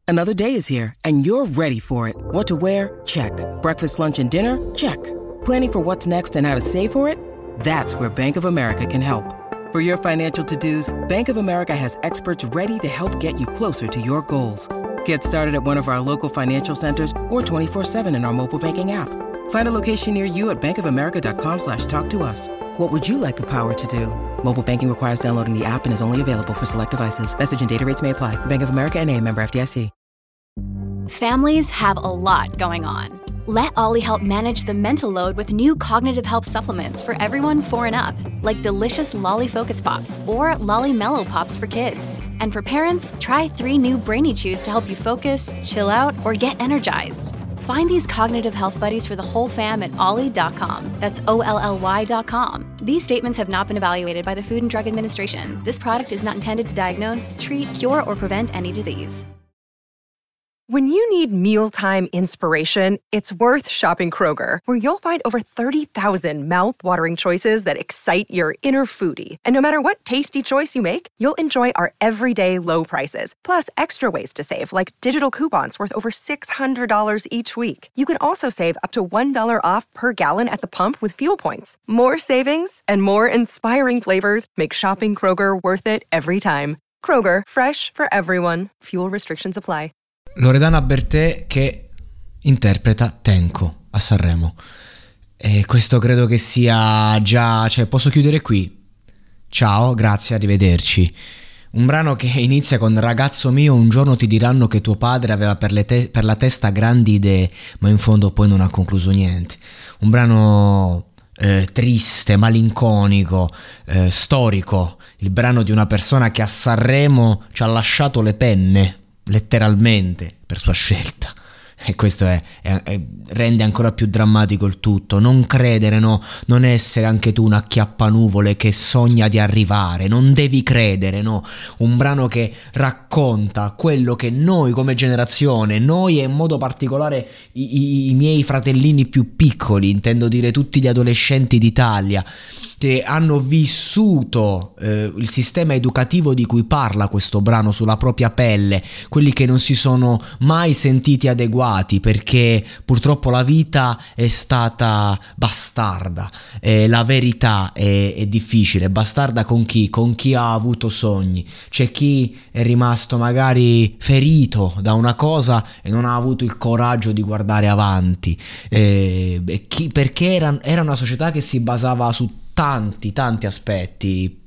Another day is here, and you're ready for it. What to wear? Check. Breakfast, lunch, and dinner? Check. Planning for what's next and how to save for it? That's where Bank of America can help. For your financial to-dos, Bank of America has experts ready to help get you closer to your goals. Get started at one of our local financial centers or 24/7 in our mobile banking app. Find a location near you at bankofamerica.com/talktous. What would you like the power to do? Mobile banking requires downloading the app and is only available for select devices. Message and data rates may apply. Bank of America N.A., member FDIC. Families have a lot going on. Let Ollie help manage the mental load with new cognitive help supplements for everyone 4 and up, like delicious Lolly Focus Pops or Lolly Mellow Pops for kids. And for parents, try 3 new Brainy Chews to help you focus, chill out, or get energized. Find these cognitive health buddies for the whole fam at ollie.com. That's OLLY.com. These statements have not been evaluated by the Food and Drug Administration. This product is not intended to diagnose, treat, cure, or prevent any disease. When you need mealtime inspiration, it's worth shopping Kroger, where you'll find over 30,000 mouth-watering choices that excite your inner foodie. And no matter what tasty choice you make, you'll enjoy our everyday low prices, plus extra ways to save, like digital coupons worth over $600 each week. You can also save up to $1 off per gallon at the pump with fuel points. More savings and more inspiring flavors make shopping Kroger worth it every time. Kroger, fresh for everyone. Fuel restrictions apply. Loredana Bertè che interpreta Tenco a Sanremo, e questo credo che sia già, cioè posso chiudere qui. Ciao, grazie, arrivederci. Un brano che inizia con: ragazzo mio, un giorno ti diranno che tuo padre aveva per la testa grandi idee, ma in fondo poi non ha concluso niente. Un brano triste, malinconico, storico, il brano di una persona che a Sanremo ci ha lasciato le penne letteralmente per sua scelta, e questo rende ancora più drammatico il tutto. Non credere, no, non essere anche tu una acchiappanuvole che sogna di arrivare, non devi credere, no. Un brano che racconta quello che noi come generazione, noi e in modo particolare i miei fratellini più piccoli, intendo dire tutti gli adolescenti d'Italia, che hanno vissuto il sistema educativo di cui parla questo brano sulla propria pelle, quelli che non si sono mai sentiti adeguati perché purtroppo la vita è stata bastarda, la verità è difficile. Bastarda con chi? Con chi ha avuto sogni. C'è chi è rimasto magari ferito da una cosa e non ha avuto il coraggio di guardare avanti, perché era una società che si basava su tanti aspetti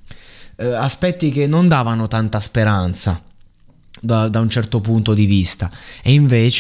che non davano tanta speranza da un certo punto di vista, e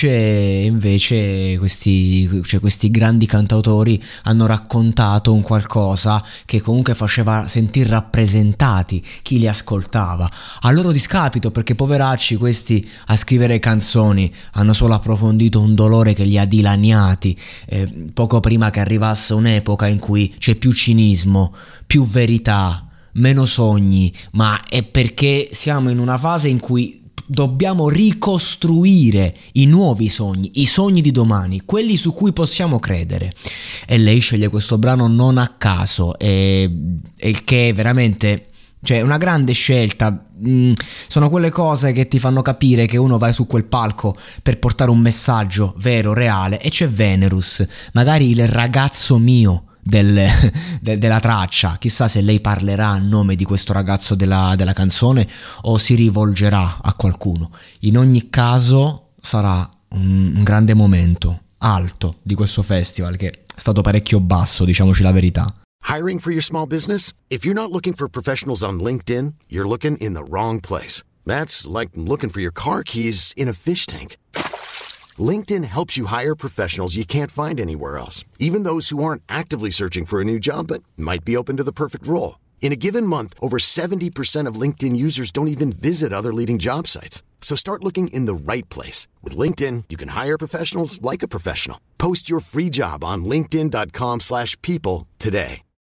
invece questi grandi cantautori hanno raccontato un qualcosa che comunque faceva sentire rappresentati chi li ascoltava, a loro discapito, perché poveracci questi a scrivere canzoni hanno solo approfondito un dolore che li ha dilaniati poco prima che arrivasse un'epoca in cui c'è più cinismo, più verità, meno sogni, ma è perché siamo in una fase in cui dobbiamo ricostruire i nuovi sogni, i sogni di domani, quelli su cui possiamo credere. E lei sceglie questo brano non a caso, e il che è veramente, cioè, una grande scelta. Sono quelle cose che ti fanno capire che uno va su quel palco per portare un messaggio vero, reale, e c'è Venerus, magari il ragazzo mio della traccia. Chissà se lei parlerà a nome di questo ragazzo della canzone o si rivolgerà a qualcuno. In ogni caso sarà un grande momento alto di questo festival, che è stato parecchio basso, diciamoci la verità. Hiring for your small business? If you're not looking for professionals on LinkedIn, you're looking in the wrong place. That's like looking for your car keys in a fish tank. LinkedIn helps you hire professionals you can't find anywhere else, even those who aren't actively searching for a new job but might be open to the perfect role. In a given month, over 70% of LinkedIn users don't even visit other leading job sites. So start looking in the right place. With LinkedIn, you can hire professionals like a professional. Post your free job on linkedin.com/people today.